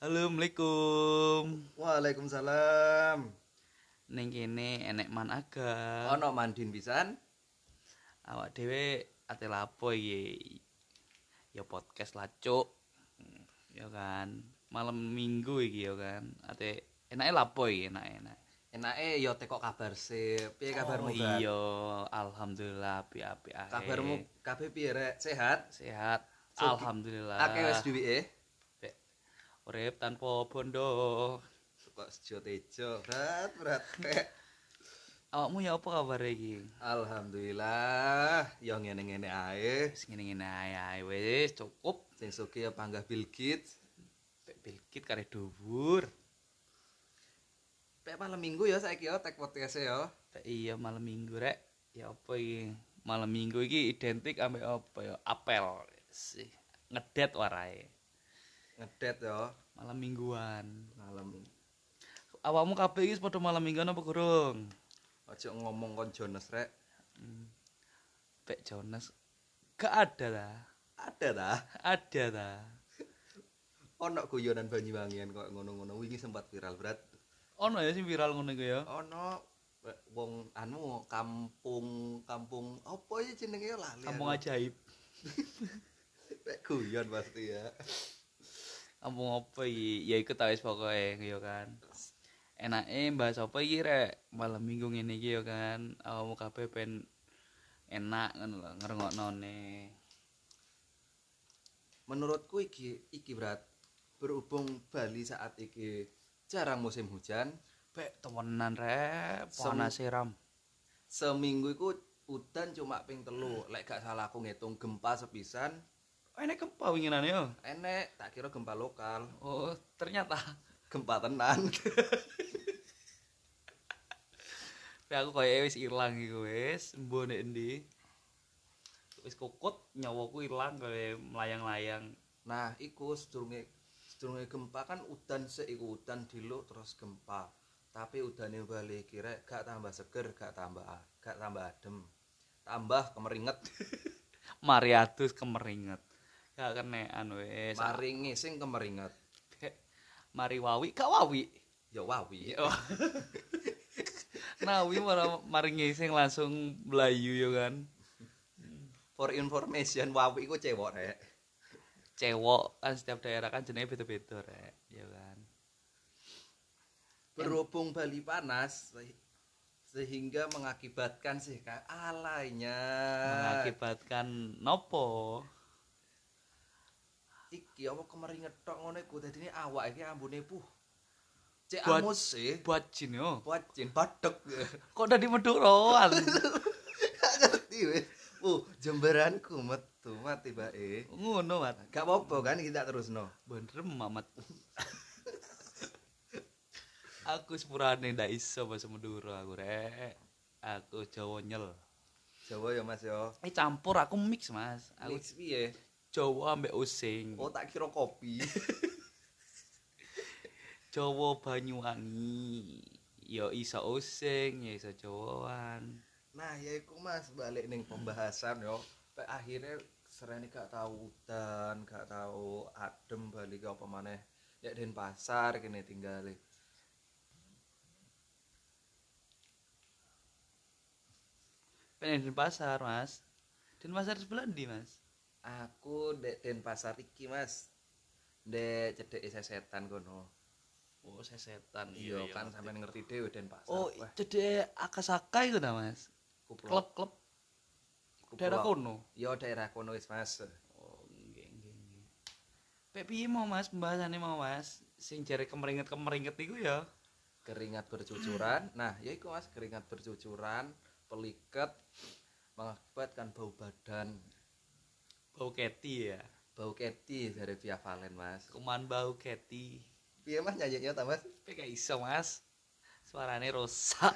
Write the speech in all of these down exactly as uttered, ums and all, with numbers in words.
Assalamualaikum. Waalaikumsalam. Ning kene enek man aga. Ono mandin pisan? Awak dhewe ate lapo iki? Ya podcast lah, Cuk. Hmm, Ya kan. Malam Minggu iki ya kan. Ate enake lapo iki enak-enak. Enake yo teko kabar sih. Piye kabarmu, Oh, Brat? iya, alhamdulillah apik-apik ae. Kabarmu kabeh piye rek? Sehat? Sehat. Sogi- Alhamdulillah. Akeh wis duwike? Pek urip tanpa bondo. Kok sejo tejo, Brat, Brat. Pek. Awakmu ya apa kabar iki? Alhamdulillah, yo ngene-ngene ae. Wis ngene-ngene ae ae wis cukup. Sing sugih panggah Bill Gates. Pek bilkit kare dhuwur. Pek malam Minggu ya saiki yo tek podcast yo. Pek iya malam Minggu rek. Ya apa iki? Malam Minggu iki identik ambek apa ya? Apel. Sih, ngedet warae. Ngedet yo Malam Mingguan. malam. Awakmu kabeh iki padha malam Mingguan apa gurung? Ojo ngomong kon Jonas rek. Pek Jonas. Gak ada lah. Ada ta? Ada ta. Ono guyonan Banyuwangian kok ngono-ngono wingi sempat viral, Brat. Ono ya sing viral ngono iku ya. Ono eh, wong anu kampung kampung apa ya jenenge ya lali. Kampung aku. ajaib. Pek guyon pasti ya. Kampung apa iki? Ya iku ta wis pokoke ya kan. Enake bahas apa iki rek? Malam Minggu ngene iki ya kan. Awakmu kabeh ben enak ngono lho ngrungoknone. Menurutku iki iki berat berhubung Bali saat iki jarang musim hujan, Pek temenan rek, Sem- panas seram. seminggu iku udan cuma ping telu. Lek gak salah aku ngitung gempa sepisan, Enek gempa winginane yo. enek tak kira gempa lokal, Oh, ternyata gempa tenan. Pek aku koyo wis ilang iku wis, mbo nek endi. Wis kokot nyawaku ilang koyo melayang-layang. Nah, iku sedurunge sedurunge gempa kan udan sik iku udan diluk terus gempa. Tapi udane Bali iki rek gak tambah seger, gak tambah gak tambah adem. Tambah kemeringet. Mari adus kemeringet. Gak kenekan wis. Mari ngising kemeringet. Pek, mari wawi, gak wawi. Ya wawi. Yo. Nawi malah mari ngising langsung melayu yo kan. For information, wawi iku cewek rek. Cewek kan setiap daerah kan jenenge beda-beda rek, ya kan. Berhubung Bali panas se- sehingga mengakibatkan sih Kak alainya. Mengakibatkan nopo? Iki apa kemeringet tok ngono iku dadine awak iki ambune puh. Cek Buat- amus sih. Buat jin yo. Wajin badek. Kok dadi meduroan? Gak ngerti wis. Uh, jemberanku metu mati bae. Ngono mat. Gak apa-apa kan kita terusno. Bener mamat. Aku sepurane ndak iso bahasa Madura aku rek. Aku Jawa nyel. Jawa ya Mas ya. Eh campur aku mix Mas. Aku Mix piye? Jawa ambek Osing. Oh tak kira kopi. Jawa Banyuwangi. Ya iso Osing, ya iso Jawaan. Nah, ya iku Mas balik ning pembahasan yo. Pak akhirnya serene gak tahu udan, gak tahu adem balik ke apa maneh. Ya Denpasar kene tinggale. Pengen di pasar Mas. Denpasar sebelah ndi Mas? Aku dek Denpasar iki Mas. Dek cedeke sesetan kono. Oh sesetan. Iya kan sampean ngerti dhewe Denpasar. Oh Wah, cedek Akasaka itu ta Mas? iku pulau- Klub-klub iku daerah pulau- kono. Iya daerah kono wis Mas. Oh nggih nggih nggih. Pek piye mau Mas pembahasannya mau Mas? Sing jare kemeringet-kemeringet iku ya. Keringat bercucuran. Nah, ya iku Mas keringat bercucuran, peliket mengakibatkan bau badan. Bau keti ya. Bau keti dari Via Valen Mas. Kuman bau keti. Piye Mas nyanyinya ta Mas? Pek gak iso Mas. Suarane rusak.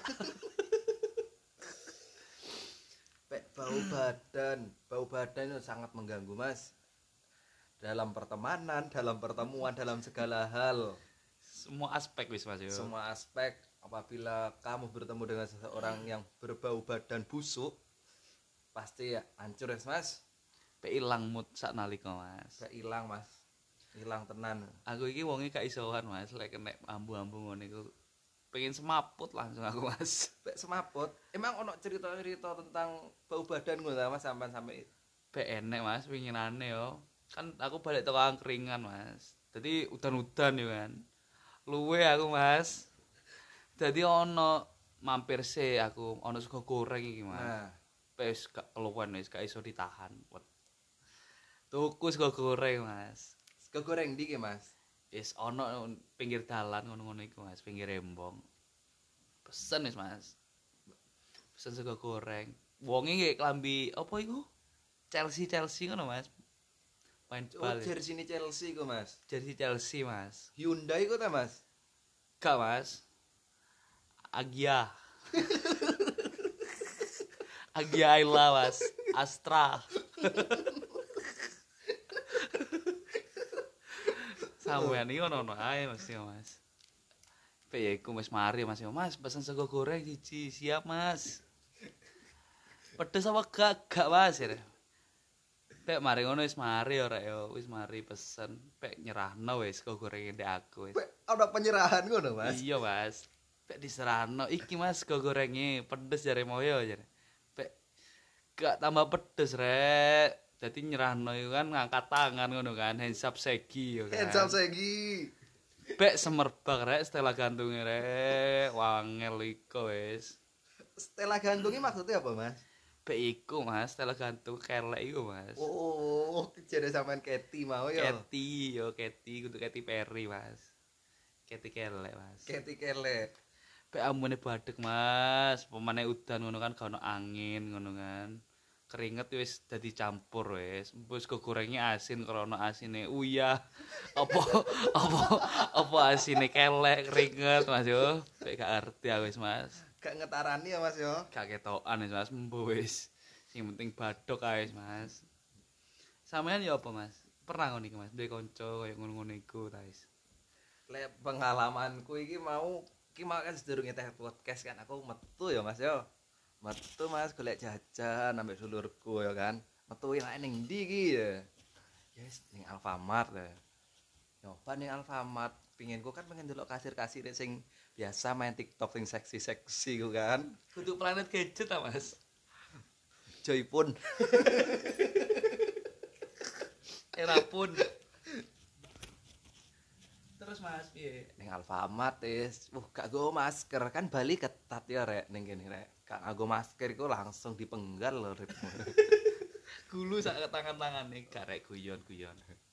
Pek bau badan, bau badan itu sangat mengganggu Mas. Dalam pertemanan, dalam pertemuan, dalam segala hal, Semua aspek wis Mas yo. semua aspek. Apabila kamu bertemu dengan seseorang yang berbau badan busuk, pasti ya hancur ya Mas. Pek ilang mood sak nalika Mas. Gak hilang Mas. Ilang tenan. Aku iki wonge gak isoan Mas, lek kena ambu-ambu ngono iku pengen semaput langsung aku Mas. Pek semaput. Emang ono cerita-cerita tentang bau badan ngono ta Mas sampean sampe Pek enek Mas winginane yo. Kan aku balik teko angkringan Mas. Dadi udan-udan yo kan. Luwe aku Mas. Dadi ono mampir se aku ono sego goreng iki Mas. Nah, Wis gak keluwen wis gak iso ditahan. Tuku sego goreng Mas. sego goreng ndi ki Mas? Wis ono pinggir dalan ngono-ngono iku Mas, pinggir rembong. Pesen wis Mas. Pesen sego goreng. Wonge nggih klambi apa iku? Chelsea Chelsea ngono Mas. Main Oh, bal. jersey Chelsea ku Mas. Jersey Chelsea Mas. Hyundai ku ta Mas? Gak Mas. Agia. Agia Ayla Mas. Astra. Sampeyan iki ono-ono ae Mas yo Mas. Pe ya iku Mas mari Mas yo. Mas pesen sego goreng siji, siap Mas. Pedes apa gak? Gak Mas ya. Pek mari ngono wis mari ora yo, wis mari pesen. Pek nyerahno wis sego goreng ndek aku wis. Pek ana penyerahan ngono Mas. Iya Mas. Pek diserahno iki Mas sego gorenge pedes jare moyo jare. Pek gak tambah pedes rek. Dadi nyerahno iku kan ngangkat tangan ngono kan, hands up segi yo kan. Hands up segi. Pek semerbak rek Stella gantunge rek, wangel iko wis. Stella gantungi maksudnya apa Mas? Pek iku Mas, Stella gantung kelek iku Mas. Oh, jare sampean Keti mau ya. Keti yo, Keti kudu Keti Perry Mas. Keti kelek Mas. Keti kelek. Pek ambune badhek Mas, pemane udan ngono kan gak ono angin ngono kan. Keringet wis dadi campur wis. Wis gorengnya asin krana asine uyah. Apa apa apa asine kelek keringet Mas yo. Pek gak ngerti aku wis Mas. Gak ngetarani ya Mas yo. Gak ketokan wis Mas, mbo wis. Sing penting badhok ae wis Mas. Sampeyan ya apa Mas? Pernah ngono iki Mas, duwe kanca kaya ngono-ngono iku ta wis. Lek pengalamanku iki mau iki mau kan sedurunge teh podcast kan aku metu ya Mas yo. Metu Mas golek jajan ambek dulurku ya kan. Metu enak ning ndi iki ya. Ya wis ning Alfamart ya. Nyoba ning Alfamart, pinginku kan pengen delok kasir-kasir sing biasa main TikTok sing seksi-seksi ku kan. Kudu planet gadget ta Mas? Joypun. Era pun. Terus Mas piye? Ning Alfamart wis, uh gak go masker kan Bali ketat ya rek ning kene rek. Gak nggo masker iku langsung dipenggal lho rek. Gulu sak tangan-tangane garek guyon-guyon.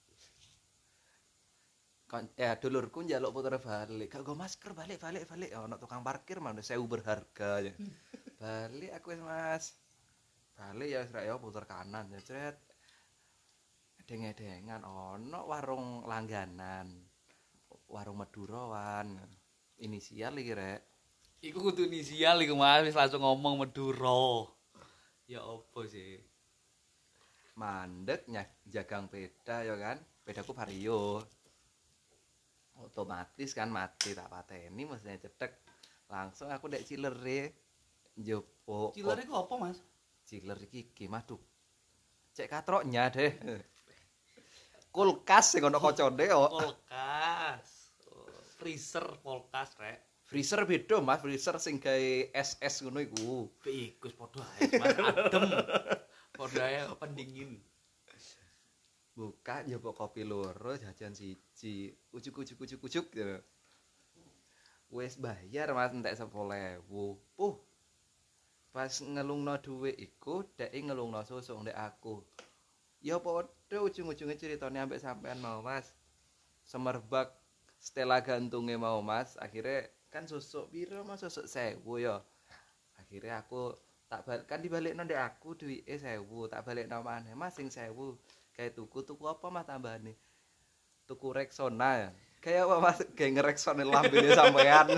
Kon ya dulurku njaluk puter balik. Gak go masker balik balik balik. Ono tukang parkir mah sewu berharga ya. Balik aku wis Mas. Balik ya wis rek ya puter kanan ya cret. Edeng-edengan ono warung langganan. Warung Madurawan. Inisial iki rek. Iku kudu inisial iku Mas, wis langsung ngomong Madura. Ya opo sih? Mandek nyak jagang peda ya kan. Pedaku Vario. Otomatis kan mati tak pateni mestinya cetek. Langsung aku ndek cilere njopo. Cilere ku apa Mas? Ciler iki iki Mas, cek katroknya deh. Kulkas sing ono kocone kok. Kulkas. Oh, freezer kulkas rek. Freezer beda Mas, freezer sing gawe es-es ngono iku. Iku wis padha ae Mas, adem. Padha ae pendingin. Buka nyoba kopi loro jajan siji. Ujuk-ujuk-ujuk-ujuk ya. Wis bayar Mas entek sepuluh ribu. Puh. Pas ngelungno dhuwit iku dhek ngelungno susu ndek aku. Ya padha ujung-ujunge ceritane ambek sampean mau Mas. Semerbak Stella gantunge mau Mas, akhirnya kan susuk piro Mas susuk sewu ya. Akhirnya aku tak balik kan dibalikno ndek aku duwike sewu, tak balikno maneh Mas sing sewu. Kayak tuku tuku apa Mas tambahane? Tuku Rexona ya. Kayak apa Mas gawe ngereksone lambene sampean.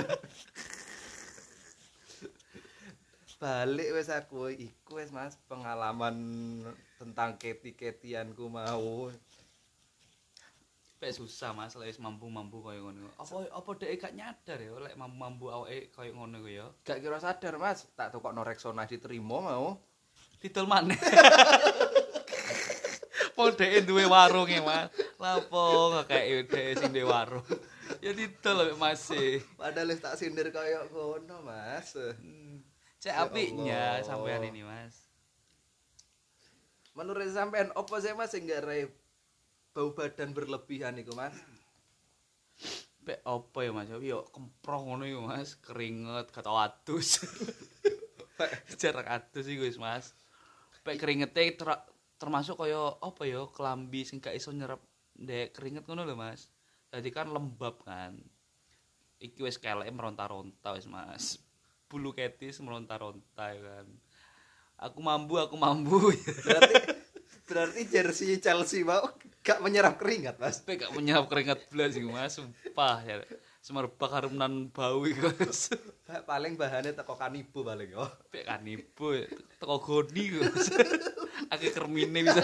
Balik wis aku iku wis Mas pengalaman tentang keti-ketianku mau. Pek susah Mas, lek wis mampu-mampu kaya ngono. Apa apa dhek gak nyadar ya lek mampu-mampu awake kaya ngono ku ya. Gak kira sadar Mas, tak tukokno Rexona diterima mau. Didol maneh. Pol dhek duwe warunge Mas. Lapo ngekeki dhek sing ndek warung. Ya didol mek Mas e. Padahal wis tak sindir kaya ngono, Mas. Cek Ya apiknya Allah. sampean ini, Mas. Menurut sampean opo sih Mas sing garai bau badan berlebihan iku, Mas? Pek apa ya Mas? Yo kemproh ngono iku Mas, keringet kata adus. Jarak adus iku wis Mas. Pek keringete ter- termasuk kaya apa ya kelambi sing gak iso nyerep ndek keringet ngono lho Mas. Jadi kan lembab kan. Iki wis keleke meronta-ronta wis Mas. Bulu ketis meronta-ronta ya kan. Aku mambu, aku mambu. Berarti berarti jersey Chelsea mau gak menyerap keringat, Mas. Pek gak menyerap keringat blas iku Mas, sumpah ya. Semerbak harunan bau iku Mas. Paling bahannya teko kanibu paling yo. Pek kanibu teko goni iku Mas. Akeh kermine bisa.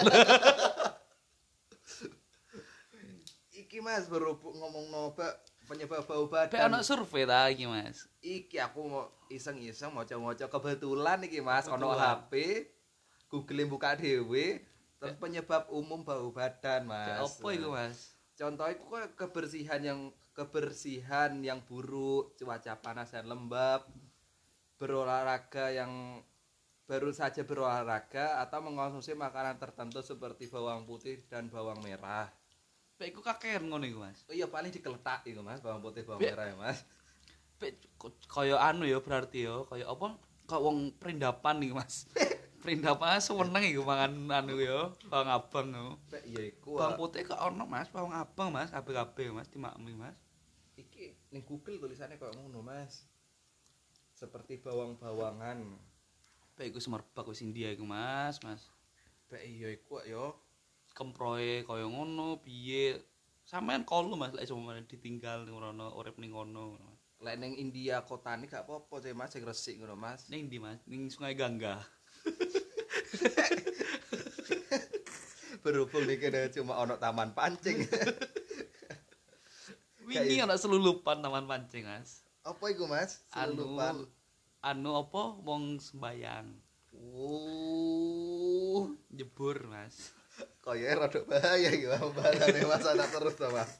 Iki Mas berhubung ngomong noba penyebab bau Pek badan. ana survei ta iki Mas. Iki aku mau iseng-iseng maca-maca kebetulan iki Mas ono Kebetulan. H P Google buka dhewe terus penyebab umum bau badan Pek Mas. apa iku Mas? Contoh itu kok kebersihan yang kebersihan yang buruk, cuaca panas dan lembab, berolahraga yang baru saja berolahraga atau mengkonsumsi makanan tertentu seperti bawang putih dan bawang merah. Pek iku kakean ngono iku Mas. Oh iya paling digeletak iku Mas, bawang putih bawang Be- merah ya Mas. Pek k- kaya anu ya berarti ya, kaya apa? Kaya wong perindapan iki Mas. Perindapan seneng iku mangan anu ya, bawang abang yo. Pek iya iku. Bawang putih kok ono Mas, bawang abang Mas, kabeh-kabeh Mas dimakmi Mas. Iki ning Google tulisannya kayak ngono Mas. Seperti bawang-bawangan. Pek iku semerbak wis India iku Mas, Mas. Pek iya iku yo. Kemproe kaya ngono piye? Sampean kalu Mas lek cuma ditinggal ngono urip ning ngono. Lek ning India kotane gak apa-apa sih Mas sing resik ngono Mas. Ning ndi Mas? Ning Sungai Gangga. Berhubung nih kena cuma ono taman pancing. Wingi ana selulupan taman pancing Mas. Apa iku Mas? Anu Selulupan. anu apa wong sembayang Uh, jebur Mas. kaya rada bahaya iki bahasane Mas ana terus to Mas.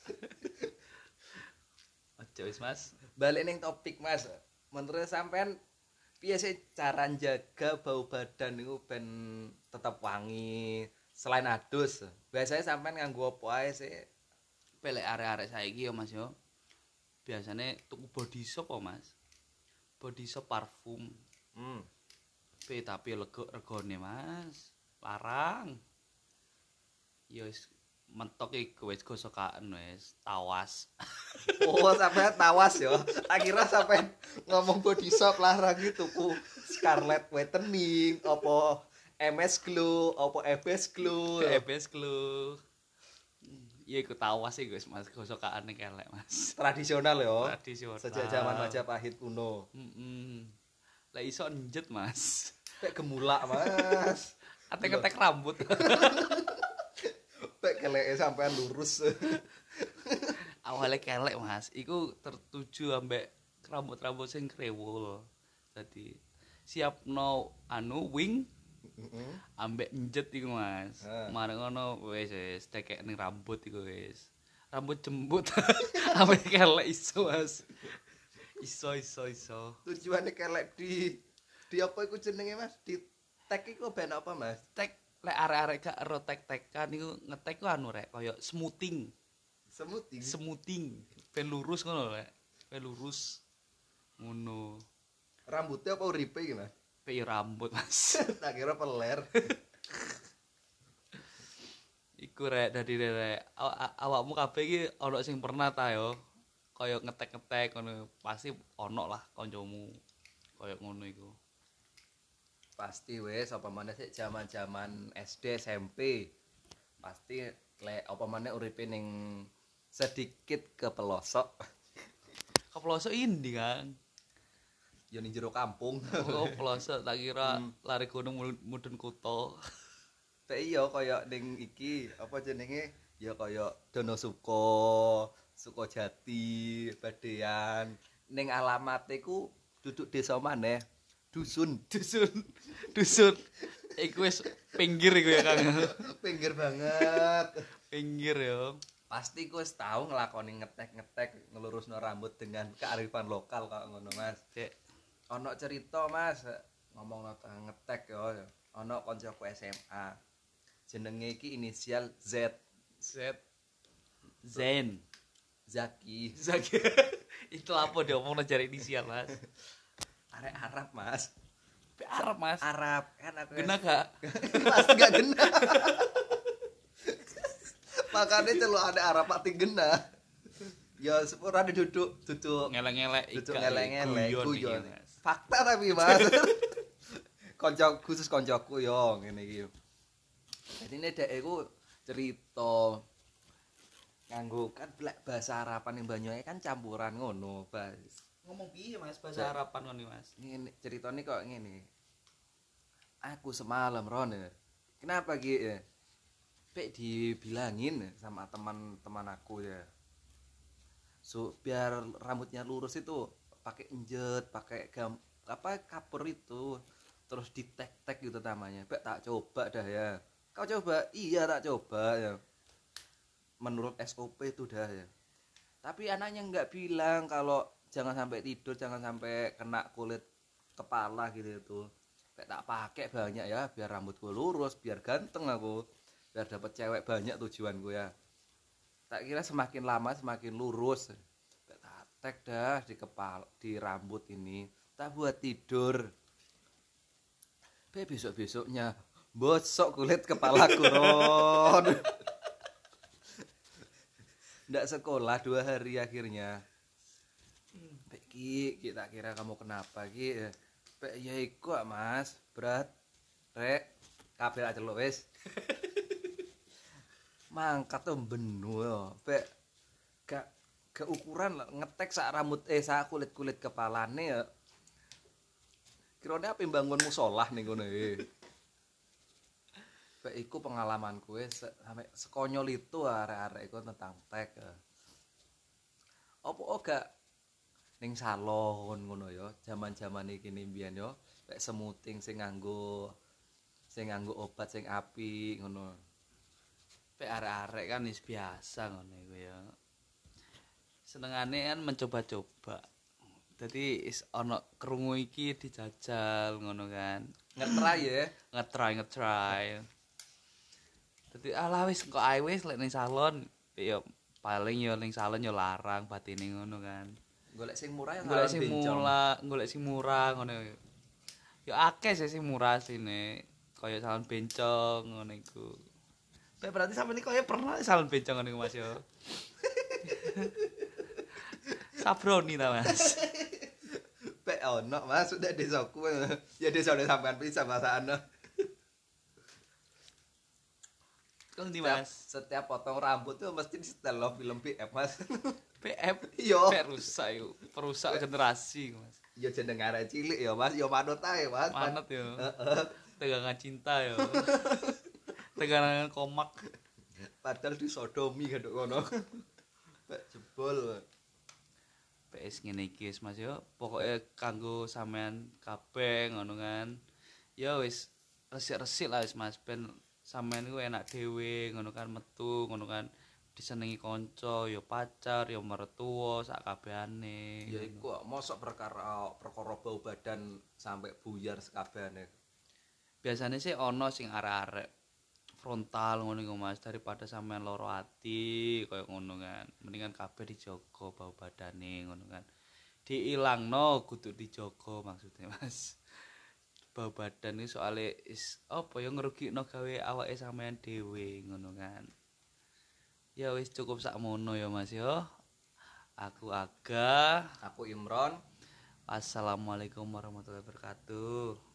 Ojo wis Mas. Balik ning topik Mas. Menurut sampean piye sih cara jaga bau badan niku ben tetap wangi selain adus? Biasanya sampean nganggo apa ae sih? Pelek arek-arek saiki yo Mas yo. Biasane tuku body shop apa Mas? Body shop parfum. Hmm. Pe tapi lega regane Mas. Larang. Ya wis mentok iku wis gosokan wis tawas. Oh, sampean tawas yo. Tak kira sampean ngomong body shop larang itu tuku Scarlett Whitening, apa M S Glow, apa F S Glow. P B S Clue. Ya iku tawas iku wis Mas gosokane kelek Mas. Tradisional yo. Tradisional. Sejak zaman Majapahit kuno. Heeh. Lah iso njet Mas. Pek gemulak, Mas. Ate ngetek rambut. Pek keleke sampean lurus. Awalnya kelek Mas, iku tertuju ambek rambut-rambut sing krewul. Jadi siapno anu wing Heeh. ambek njet iku Mas. Ah. Mareng ngono wis wis tekek ning rambut iku wis. Rambut jembut. Ambek kelek iso Mas. Iso iso iso. Tujuannya kelek di di apa iku jenenge Mas? Di tag iku ben apa Mas? Tek lek arek-arek gak ero tek-tekan niku ngetek ku anu rek kaya smoothing. Smoothing. Smoothing. Ben lurus ngono rek. Ben lurus. Ngono. Rambutnya apa uripe iki Mas? Pe rambut Mas. Tak kira peler. Iku rek dadi rek aw- aw- awakmu kabeh iki ana sing pernah ta yo. Kaya ngetek-ngetek ngono pasti ono lah kancamu. Kaya ngono iku. Pasti wes apa maneh sik zaman-zaman S D S M P. Pasti lek apa maneh uripe ning sedikit ke pelosok. Kepelosok indi kan. Ya ning jero kampung. Oh, pelosok tak kira lari gunung mul- mudhun kutha. Teh iya kaya ning iki apa jenenge? Ya kaya Donosuko, Sukojati, Badean. Ning alamate ku duduk desa maneh, dusun. Dusun. Dusun. Iku wis pinggir iku ya Kang. Pinggir banget. Pinggir yo. Pasti ku wis tau nglakoni ngetek-ngetek ngelurusno rambut dengan kearifan lokal kok ngono Mas. Cek. Ana cerita Mas, ngomongno ngetek yo. Ana kancaku S M A. Jenenge iki inisial Z. Z. Zen. Zaki. Zaki. Itu apa dia ngomong cari inisial, Mas? Arek Arab, Mas. Arab, Mas. Arab kan aku. Gena gak? Pasti gak gena. Makanya celuk ada Arab pati gena. Ya sepura duduk duduk Ngelek-ngelek duduk ika, ngeleng-ngeleng guyon guyon. iki, Mas. Fakta tapi Mas. Konco khusus koncoku yo ngene iki. Jadi ini dek iku cerita nganggo kan blek bahasa Arapan ning Banyuwangi kan campuran ngono, Bas. Ngomong piye, Mas? Bahasa Arapan ngono, Mas. Ngene ceritane kok ngene. Aku semalam Ron. Kenapa Ki? Ya? Pek dibilangin sama teman-teman aku ya. So biar rambutnya lurus itu pakai enjet, pakai gam, apa kapur itu. Terus ditek-tek gitu namanya. Pek tak coba dah ya. Kau coba? Iya tak coba ya. Menurut S O P itu dah ya. Tapi anaknya nggak bilang kalau jangan sampai tidur, jangan sampai kena kulit kepala gitu itu. Kayak tak pakai banyak ya, biar rambutku lurus, biar ganteng aku, biar dapat cewek banyak tujuanku ya. Tak kira semakin lama semakin lurus. Kayak tak tek dah di kepala, di rambut ini. Tak buat tidur. Be besok-besoknya bosok kulit kepalaku Ron. Nggak sekolah dua hari akhirnya. Pek Ki, Ki tak kira kamu kenapa Ki? Pek ya iku Mas, berat. Rek, kabeh aja lo wis. Mangkat tuh benu yo. Pek gak keukuran ngetek sak rambut eh sak kulit-kulit kepalane ya. Kirane apa bangunmu sholah ning ngono e. Pek iku pengalamanku wis sampai sekonyol itu arek-arek iku tentang tek. Apa gak ning salon ngono ya, jaman-jaman iki mbiyen yo, pek semuting sing nganggo sing nganggo obat sing apik ngono. Pek arek-arek kan wis biasa ngono iku ya. Senengane kan mencoba-coba. Dadi is ana krungu iki dijajal ngono kan. Ngetrai ya, Ngetry ngetry. Dadi ala wis kok ae wis lek ning salon ya paling ya ning salon ya larang batine ngono kan. golek sing murah ya Golek salon sing bencong. murah, golek sing murah ngono. Ya akeh sih sing murah sine. Kaya salon bencong ngono iku. Pek berarti sampe iki kaya pernah salon bencong ngono iku Mas yo. Sabroni ta Mas. Pek ono Mas sudah desaku. Ya desa udah sampean bisa bahasane. Kang di Setiap, Mas. setiap potong rambut tuh mesti di setel lo film P F Mas. P F Yo. P rusak yo. Perusak generasi Mas. Yo jeneng arek cilik ya Mas, yo manut ae Mas. Manut yo. Heeh. Tegangan cinta yo. Tegangan komak. Padahal disodomi kadok kono. Pek jebol. P S ngene iki wis Mas yo. Pokoke kanggo sampean kabeh ngono kan. Ya wis resik-resik lah wis Mas ben sampean iku enak dhewe ngono kan metu ngono kan disenengi kanca ya pacar ya mertua sak kabehane. Ya iku kok mosok perkara perkara bau badan sampai buyar sekabehane. Biasane sih ana sing arek-arek frontal ngono iku Mas daripada sampean loro ati kaya ngono kan. Mendingan kabeh dijogo bau badane ngono kan. Diilangno kudu dijogo maksudnya Mas. Bau badan iki soalé is apa ya ngrugikno gawe awake sampean dhewe ngono kan. Ya wis cukup sakmono ya Mas ya. Aku Aga. Aku Imron. Assalamualaikum warahmatullahi wabarakatuh.